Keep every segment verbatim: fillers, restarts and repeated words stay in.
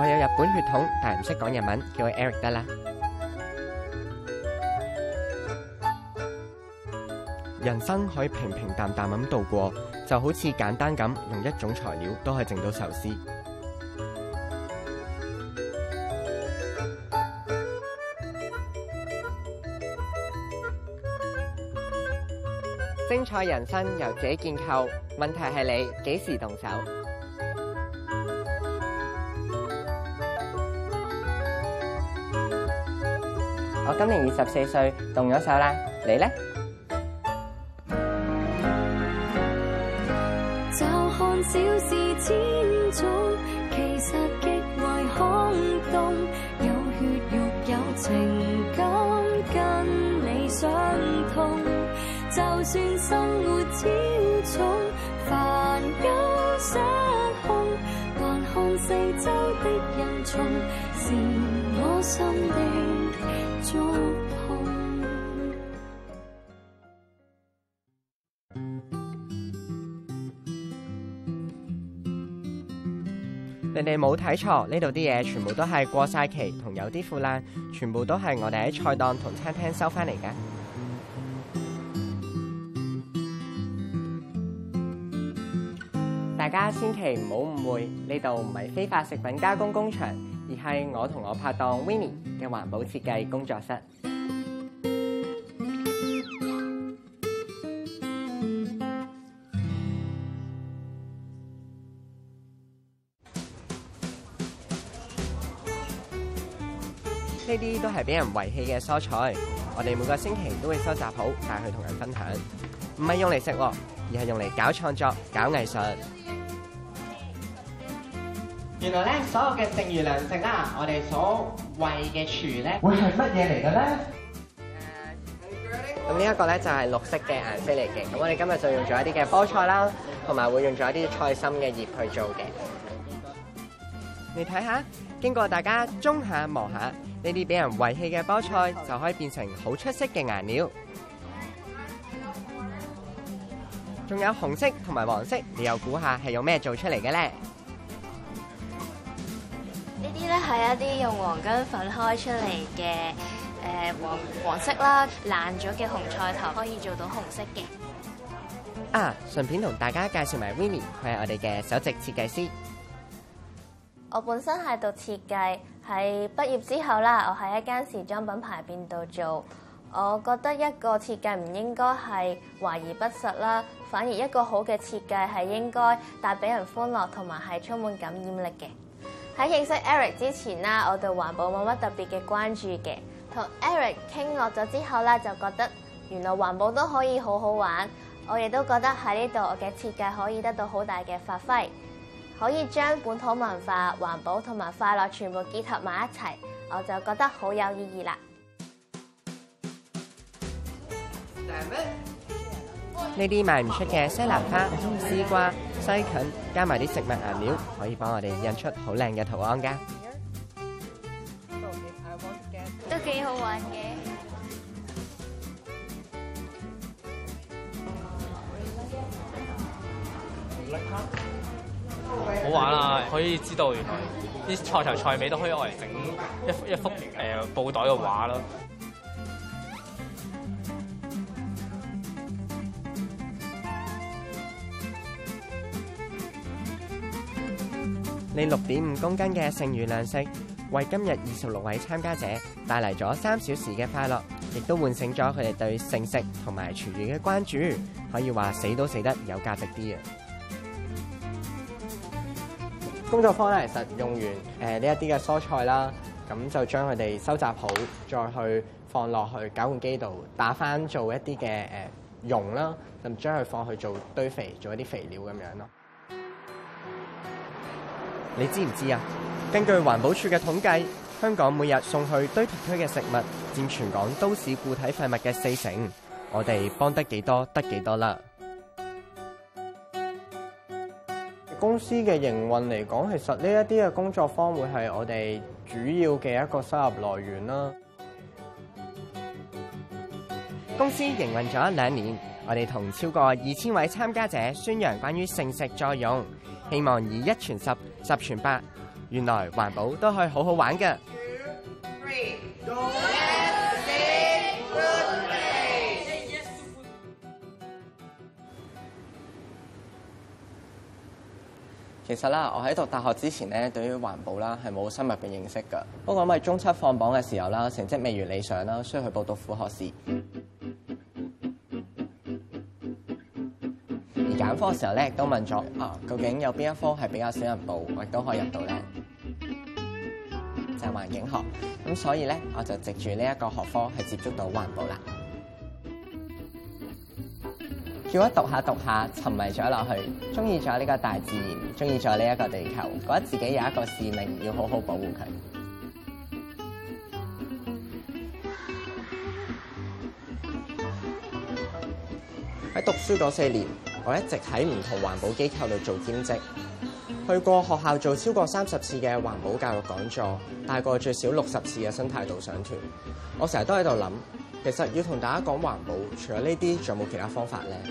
我有日本血統，但係唔識講日文，叫我 Eric 得啦。人生可以平平淡淡咁度過，就好似簡單咁用一種材料都可以整到壽司。精彩人生由自己建構，問題係你幾時動手？我今年二十四歲，動咗手啦。你呢？ 就看小事千種，其實極為空洞。有血肉有情感，跟你相通。就算生活超重，煩憂失控，還看四周的人叢，是我心的觸碰。 你哋冇睇錯，呢度啲嘢全部都係過晒期同有啲腐爛，全部都係我哋喺菜檔同餐廳收翻嚟嘅。大家千祈唔好誤會，呢度唔係非法食品加工工場，而係我同我拍檔 Winnie 嘅環保設計工作室。呢啲都係俾人遺棄嘅蔬菜，我哋每個星期都會收集好，帶去同人分享，唔係用嚟食，而係用嚟搞創作、搞藝術。原來咧，所有嘅剩餘糧食啦，我哋所餵嘅廚咧，會係乜嘢嚟嘅咧？咁呢一個咧就係綠色嘅顏色嚟嘅。咁我哋今日就用咗一啲嘅菠菜啦，同埋會用咗一啲菜心嘅葉去做嘅。你睇下，經過大家舂下磨下，呢啲俾人遺棄嘅菠菜就可以變成好出色嘅顏料。仲有紅色同埋黃色，你又估下係用咩做出嚟嘅咧？ 呢啲咧係一啲用黃薑粉開出嚟嘅誒黃黃色啦，爛咗嘅紅菜頭可以做到紅色嘅。 啊，順便同大家介紹埋 Winnie， 佢係我哋嘅首席設計師。 我本身係讀設計，喺畢業之後啦，我喺一間時裝品牌邊度做。我覺得一個設計唔應該係華而不實啦，反而一個好嘅設計係應該帶俾人歡樂同埋係充滿感染力嘅。喺認識 Eric 之前啦，我對環保冇乜特別嘅關注嘅。同 Eric 傾落咗之後咧，就覺得原來環保都可以好好玩。我亦都覺得喺呢度我嘅設計可以得到好大嘅發揮，可以將本土文化、環保同埋快樂全部結合埋一齊，我就覺得好有意義啦。 呢啲賣唔出嘅西蘭花、絲瓜、西芹，加埋啲食物顏料，可以幫我哋印出好靚嘅圖案㗎。 都幾好玩嘅。 好玩啊！可以知道原來啲菜頭菜尾都可以攞嚟整一一幅誒、呃、布袋嘅畫咯。 呢六點五公斤嘅剩餘糧食，為今日二十六位參加者帶嚟咗三小時嘅快樂，亦都喚醒咗佢哋對剩食同埋廚餘嘅關注。可以話死都死得有價值啲啊！工作坊咧，其實用完誒呢一啲嘅蔬菜啦，咁就將佢哋收集好，再去放落去攪拌機度打翻做一啲嘅誒蓉啦，就將佢放去做堆肥，做一啲肥料咁樣咯。你知唔知啊？根據環保署嘅統計，香港每日送去堆填區嘅食物佔全港都市固體廢物嘅四成。我哋幫得幾多得幾多啦。公司嘅營運嚟講，其實呢一啲嘅工作坊會係我哋主要嘅一個收入來源啦。公司營運咗兩年，我哋同超過二千位參加者宣揚關於剩食作用，希望以一傳十、十傳百， 原來環保都可以好好玩㗎。其實啦，我喺讀大學之前咧，對於環保啦係冇深入嘅認識㗎。不過因為中七放榜嘅時候啦，成績未如理想啦，需要去報讀副學士。而揀科嘅時候咧，亦都問咗啊，究竟有邊一科係比較少人報，我亦都可以入到咧？就係環境學。咁所以咧，我就藉住呢一個學科係接觸到環保啦。結果讀下讀下，沉迷咗落去，中意咗呢個大自然，中意咗呢一個地球，覺得自己有一個使命，要好好保護佢。喺讀書嗰四年，我一直喺唔同環保機構度做兼職，去過學校做超過三十次嘅環保教育講座，帶過最少六十次嘅生態導賞團。我成日都喺度諗，其實要同大家講環保，除咗呢啲，仲有冇其他方法呢？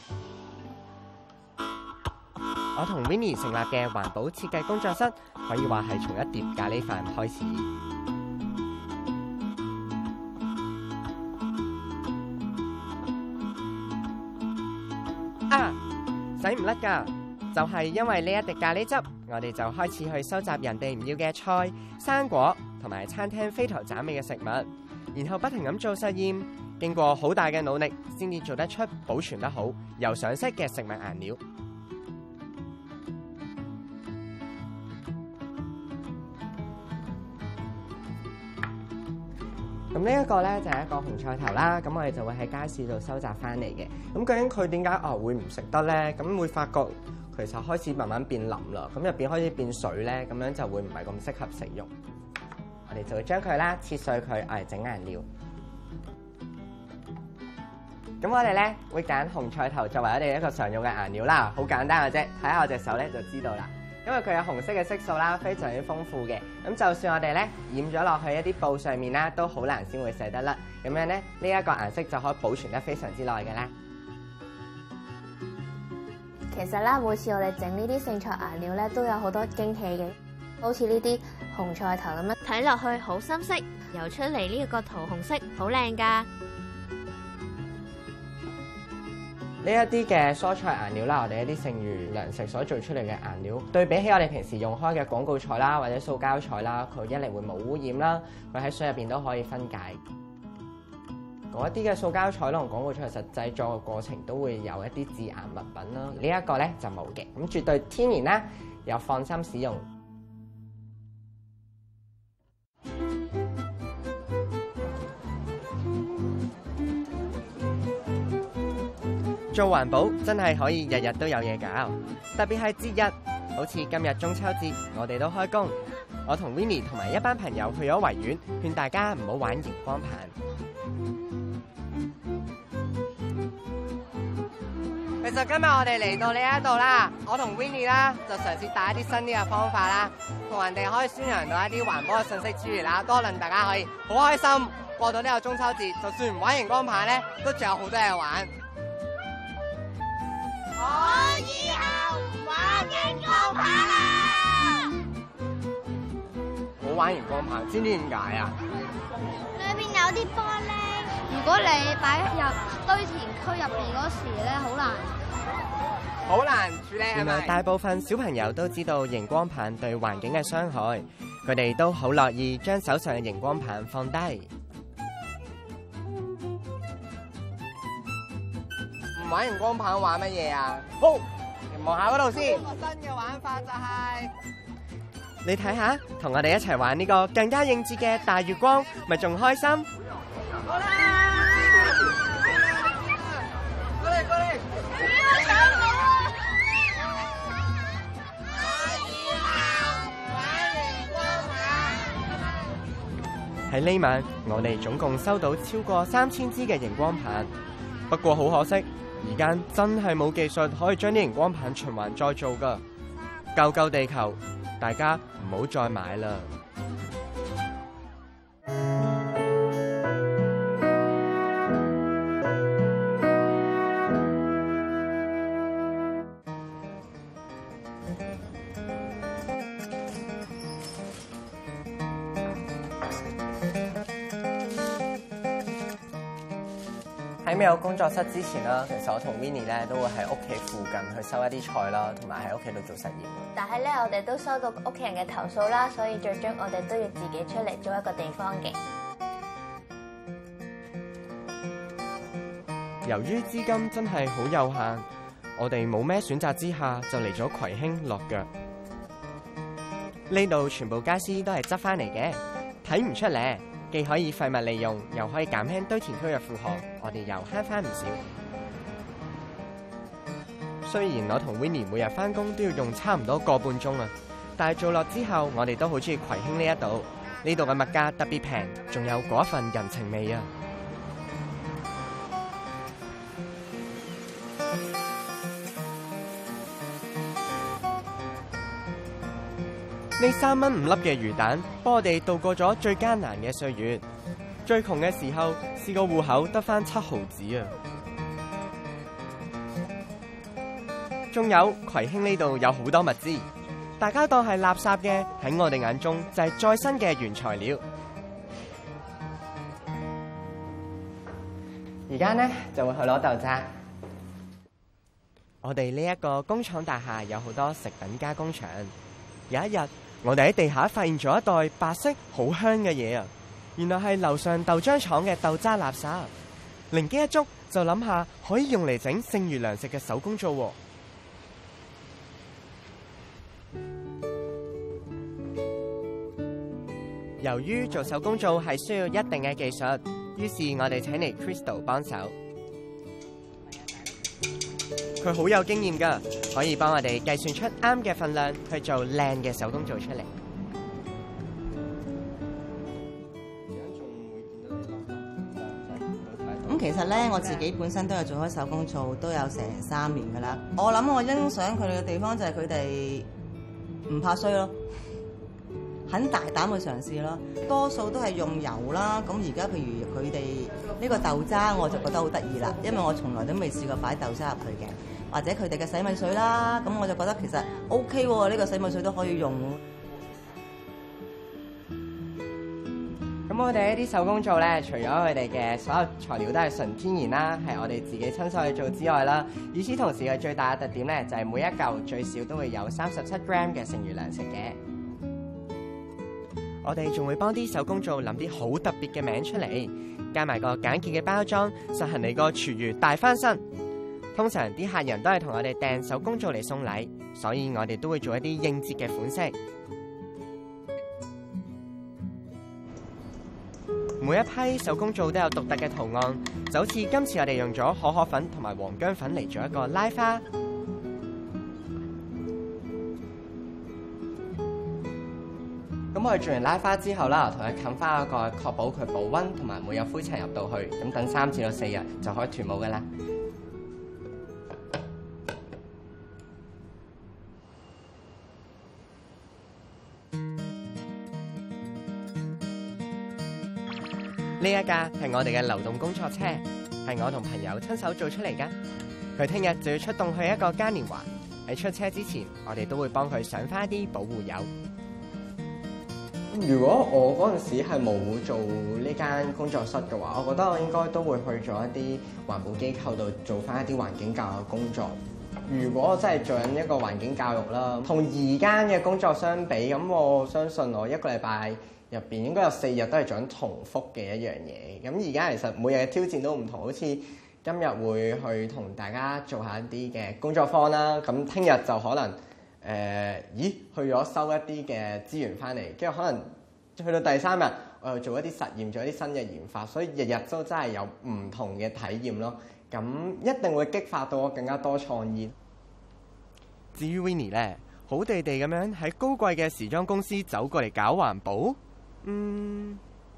我同 Winnie 成立嘅環保設計工作室，可以話係從一碟咖喱飯開始。啊，洗唔甩㗎，就係因為呢一滴咖喱汁，我哋就開始去收集人哋唔要嘅菜、生果同埋餐廳飛頭斬尾嘅食物，然後不停咁做實驗，經過好大嘅努力，先至做得出保存得好、又上色嘅食物顏料。咁呢一個咧就係一個紅菜頭啦，咁我哋就會喺街市度收集翻嚟嘅。咁究竟佢點解啊會唔食得咧？咁會發覺其實開始慢慢變腍啦，咁入邊開始變水咧，咁樣就會唔係咁適合食用。我哋就會將佢啦切碎佢，嚟整顏料。咁我哋咧會揀紅菜頭作為我哋一個常用嘅顏料啦，好簡單嘅啫，睇下我隻手咧就知道啦。因為佢有紅色嘅色素啦，非常之豐富嘅。咁就算我哋咧染咗落去一啲布上面啦，都好難先會洗得甩。咁樣咧，呢一個顏色就可以保存得非常之耐嘅啦。 其實啦，每次我哋整呢啲剩菜顏料咧，都有好多驚喜嘅。好似呢啲紅菜頭咁樣，睇落去好深色，游出嚟呢個桃紅色，好靚㗎。 呢一啲嘅蔬菜顏料啦，我哋一啲剩餘糧食所做出嚟嘅顏料，對比起我哋平時用開嘅廣告菜啦，或者塑膠菜啦，佢一嚟會冇污染啦，佢喺水入邊都可以分解。嗰一啲嘅塑膠菜同廣告菜，實製作嘅過程都會有一啲致癌物品啦。呢一個咧就冇嘅，咁絕對天然啦，又放心使用。做環保真係可以日日都有嘢搞，特別係節日，好似今日中秋節，我哋都開工。我同 Winnie 同埋一班朋友去咗維園，勸大家唔好玩熒光棒。其實今日我哋嚟到呢一度啦，我同 Winnie 啦就嘗試帶一啲新啲嘅方法啦，同人哋可以宣揚到一啲環保嘅信息之餘啦，多令大家可以好開心過到呢個中秋節。就算唔玩熒光棒咧，都仲有好多嘢玩。 我以後唔玩熒光棒啦！ 冇玩熒光棒，知唔知點解啊？ 裏邊有啲玻璃，如果你擺入堆填區入邊嗰時咧，好難， 好難處理。原來大部分小朋友都知道熒光棒對環境嘅傷害，佢哋都好樂意將手上嘅熒光棒放低。玩熒光棒玩乜嘢啊？好，你望下嗰度先。個新嘅玩法就係、是，你睇下，同我哋一齊玩呢個更加應節嘅大月光，咪仲開心？好啦，過嚟過嚟， 不要搶我！ 喺呢晚，我哋總共收到超過三千支嘅熒光棒，不過好可惜。而家真係冇技術可以將啲熒光棒循環再做㗎，救救地球！大家唔好再買啦。 喺未有工作室之前啦，其實我同 Winnie 咧都會喺屋企附近去收一啲菜啦，同埋喺屋企度做實驗。 但係咧，我哋都收到屋企人嘅投訴啦，所以最終我哋都要自己出嚟租一個地方嘅。 由於資金真係好有限，我哋冇咩選擇之下，就嚟咗葵興落腳。呢度全部傢俬都係執翻嚟嘅，睇唔出咧，既可以廢物利用，又可以減輕堆填區嘅負荷，我哋又慳翻唔少。雖然我同 Winnie 每日翻工都要用差唔多個半鐘啊，但係做落之後，我哋都好中意葵興呢一度。呢度嘅物價特別平，仲有嗰一份人情味啊！呢三蚊五粒嘅魚蛋，幫我哋度過咗最艱難嘅歲月。最窮嘅時候，試過戶口得返七毫子啊！仲有葵興呢度有好多物資，大家當係垃圾嘅，喺我哋眼中就係再生嘅原材料。而家呢就會去攞豆渣。我哋呢一個工廠大廈有好多食品加工廠。有一日，我哋喺地下發現咗一袋白色好香嘅嘢啊！原來係樓上豆漿廠嘅豆渣垃圾。靈機一觸，就諗下可以用嚟整剩餘糧食嘅手工皂喎。由於做手工皂係需要一定嘅技術，於是我哋請嚟 Crystal 幫手。佢好有經驗㗎，可以幫我哋計算出啱嘅份量去做靚嘅手工皂出嚟。 咁其實咧，我自己本身都有做開手工皂，都有成三年㗎啦。我諗我欣賞佢哋嘅地方就係佢哋唔怕衰咯，很大膽去嘗試咯。多數都係用油啦。咁而家譬如佢哋呢個豆渣，我就覺得好得意啦，因為我從來都未試過擺豆渣入去嘅。或者佢哋嘅洗米水啦，咁我就覺得其實 O K 喎，呢個洗米水都可以用。 咁我哋呢啲手工皂咧，除咗佢哋嘅所有材料都係純天然啦，係我哋自己親手去做之外啦，與此同時嘅最大嘅特點咧，就係每一嚿最少都會有三十七 gram 嘅剩餘糧食嘅。我哋仲會幫啲手工皂諗啲好特別嘅名出嚟，加埋個簡潔嘅包裝，實行你個廚餘大翻身。通常啲客人都係同我哋訂手工皂嚟送禮，所以我哋都會做一啲應節嘅款式。每一批手工皂都有獨特嘅圖案，就好似今次我哋用咗可可粉同埋黃薑粉嚟做一個拉花。咁我哋做完拉花之後啦，同佢冚翻一個，確保佢保溫同埋冇有灰塵入到去，咁等三至到四日就可以脫模噶啦。呢一架係我哋嘅流動工作車，係我同朋友親手做出嚟噶。佢聽日就要出動去一個嘉年華，喺出車之前，我哋都會幫佢上翻啲保護油。如果我嗰陣時係冇做呢間工作室嘅話，我覺得我應該都會去咗一啲環保機構度做翻一啲環境教育工作。如果我真係做緊一個環境教育啦，同而家嘅工作相比，咁我相信我一個禮拜入邊應該有四日都係做緊重複嘅一樣嘢。咁而家其實每日嘅挑戰都唔同，好似今日會去同大家做下一啲嘅工作坊啦。咁聽日就可能誒、呃，咦去咗收一啲嘅資源翻嚟，跟住可能去到第三日，我又做一啲實驗，做一啲新嘅研發，所以日日都真係有唔同嘅體驗咯。咁一定會激發到我更加多創意。至於 Winnie 咧，好地地咁樣喺高貴嘅時裝公司走過嚟搞環保。嗯，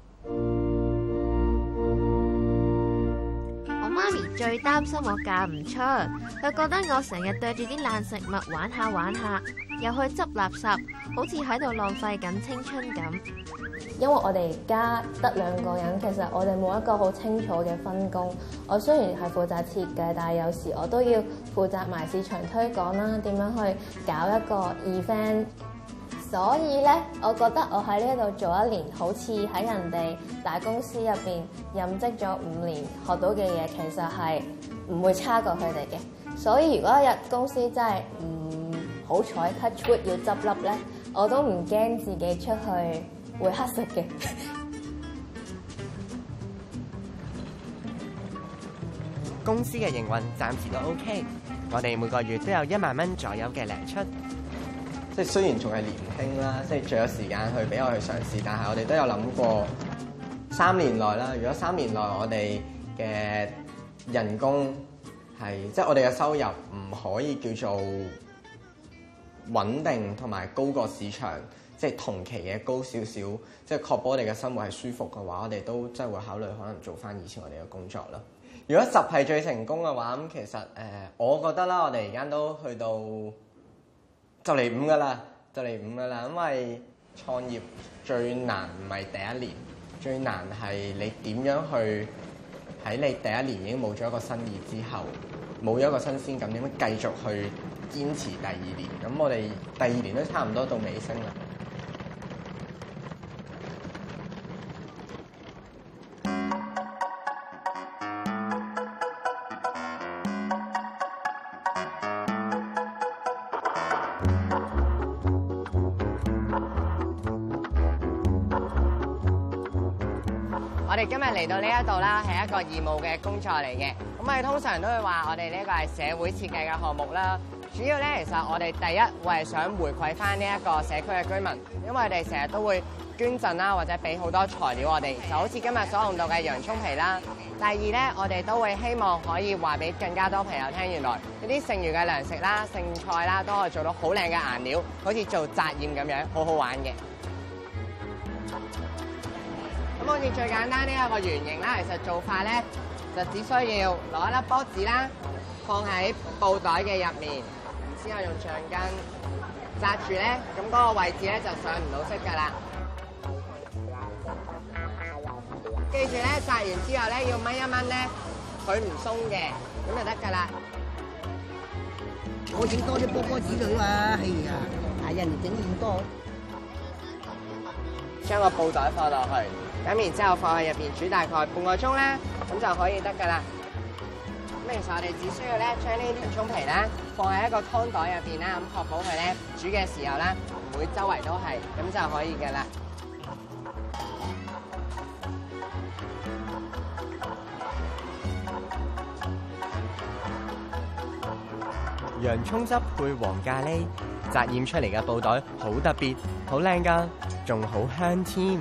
我媽咪最擔心我嫁唔出，佢覺得我成日對住啲爛食物玩下玩下，又去執垃圾，好似喺度浪費緊青春咁。 因為我哋家得兩個人，其實我哋冇一個好清楚嘅分工。我雖然係負責設計，但係有時我都要負責埋市場推廣啦，點樣去搞一個 event。 所以咧，我覺得我喺呢一度做一年，好似喺人哋大公司入邊任職咗五年，學到嘅嘢其實係唔會差過佢哋嘅。所以如果一日公司真係唔好彩 touch wood 要執笠咧，我都唔驚自己出去會乞食嘅。 公司嘅營運暫時都 OK， 我哋每個月都有一萬蚊左右嘅糧出。即係雖然仲係年輕啦，即係仲有時間去俾我去嘗試，但係我哋都有諗過三年內啦。如果三年內我哋嘅人工係即係我哋嘅收入唔可以叫做穩定同埋高過市場，即係同期嘅高少少，即係確保我哋嘅生活係舒服嘅話，我哋都真係會考慮可能做翻以前我哋嘅工作啦。如果十係最成功嘅話，咁其實誒、呃，我覺得啦，我哋而家都去到就嚟五噶啦，就嚟五噶啦。因為創業最難唔係第一年，最難係你點樣去喺你第一年已經冇咗一個新意之後，冇咗一個新鮮感，點樣繼續去堅持第二年？咁我哋第二年都差唔多到尾聲啦。我哋今日嚟到呢一度啦，係一個義務嘅工作嚟嘅。咁我哋通常都會話，我哋呢個係社會設計嘅項目啦。主要咧，其實我哋第一會係想回饋翻呢一個社區嘅居民，因為我哋成日都會捐贈啦，或者俾好多材料我哋，就好似今日所用到嘅洋葱皮啦。第二咧，我哋都會希望可以話俾更加多朋友聽，原來呢啲剩餘嘅糧食啦、剩菜啦，都可以做到好靚嘅顏料，好似做紮染咁樣，好好玩嘅。咁好似最簡單呢一個圓形啦，其實做法咧就只需要攞一粒波子啦，放喺布袋嘅入面，然之後用橡筋紮住咧，咁嗰個位置咧就上唔到色㗎啦。記住咧，紮完之後咧要掹一掹咧，佢唔鬆嘅，咁就得㗎啦。 我整多啲波波子佢嘛，係啊，係人哋整咁多。 將個布袋放落去。咁然之後放喺入邊煮大概半個鐘啦，咁就可以得㗎啦。咁其實我哋只需要咧將呢啲洋葱皮咧放喺一個湯袋入邊啦，咁確保佢咧煮嘅時候咧唔會周圍都係，咁就可以㗎啦。洋葱汁配黃咖喱，紮染出嚟嘅布袋好特別，好靚㗎，仲好香添。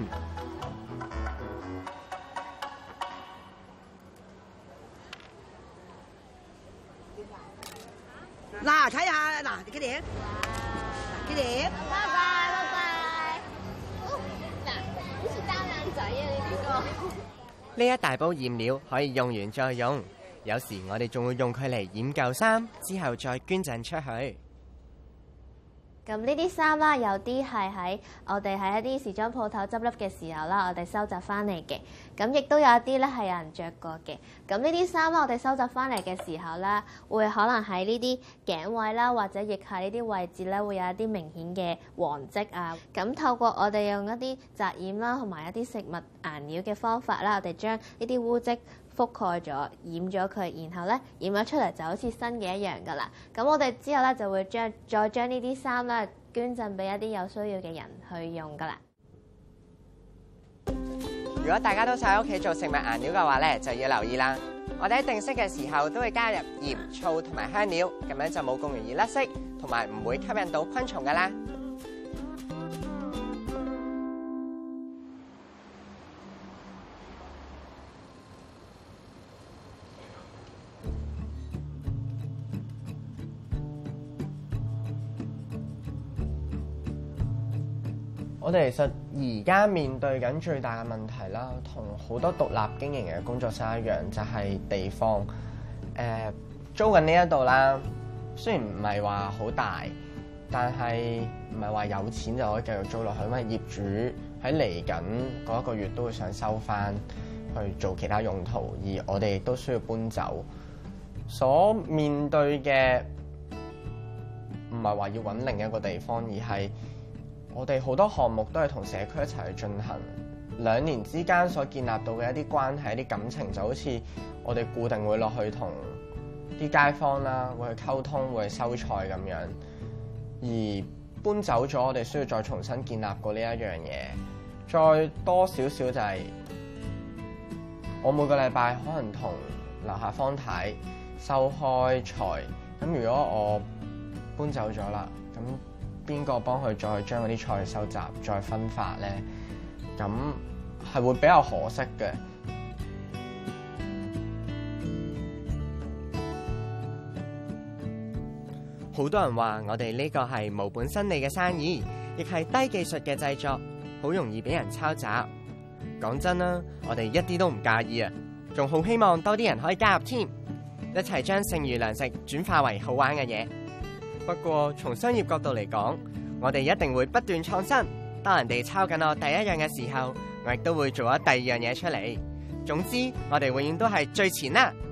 嗱，睇下嗱，幾點？幾點？ 拜拜拜拜。嗱，好似擔眼仔啊！你呢個。 呢一大煲染料可以用完再用，有時我哋仲會用佢嚟染舊衫，之後再捐贈出去。 咁呢啲衫啦，有啲係喺我哋喺一啲時裝鋪頭執笠嘅時候啦，我哋收集翻嚟嘅。咁亦都有一啲咧係有人着過嘅。咁呢啲衫啦，我哋收集翻嚟嘅時候咧，會可能喺呢啲頸位啦，或者亦係呢啲位置咧，會有一啲明顯嘅黃跡啊。咁透過我哋用一啲紮染啦，同埋一啲食物顏料嘅方法啦，我哋將呢啲污跡覆蓋咗、染咗佢，然後咧染咗出嚟就好似新嘅一樣噶啦。咁我哋之後咧就會將再將呢啲衫咧捐贈俾一啲有需要嘅人去用噶啦。 如果大家都想喺屋企做食物顏料嘅話咧，就要留意啦。我哋喺定色嘅時候都會加入鹽、醋同埋香料，咁樣就冇咁容易甩色，同埋唔會吸引到昆蟲噶啦。我哋其實而家面對緊最大嘅問題啦，同好多獨立經營嘅工作室一樣，就係地方。誒，租緊呢一度啦，雖然唔係話好大，但係唔係話有錢就可以繼續租落去，因為業主喺嚟緊嗰一個月都會想收翻去做其他用途，而我哋亦都需要搬走。所面對嘅唔係話要揾另一個地方，而係我哋好多項目都係同社區一齊去進行，兩年之間所建立到嘅一啲關係、一啲感情，就好似我哋固定會落去同啲街坊啦，會去溝通，會去收菜咁樣。而搬走咗，我哋需要再重新建立過呢一樣嘢。再多少少就係、是、我每個禮拜可能同樓下方太收開菜，咁如果我搬走咗啦，咁邊個幫佢再將嗰啲菜收集、再分發呢？咁係會比較可惜嘅。好多人話我哋呢個係無本生利嘅生意，亦係低技術嘅製作，好容易俾人抄襲。講真啦，我哋一啲都唔介意啊，仲好希望多啲人可以加入添，一齊將剩餘糧食轉化為好玩嘅嘢。不過從商業角度嚟講，我哋一定會不斷創新。當人哋抄緊我第一樣嘅時候，我亦都會做咗第二樣嘢出嚟。總之，我哋永遠都係最前啦。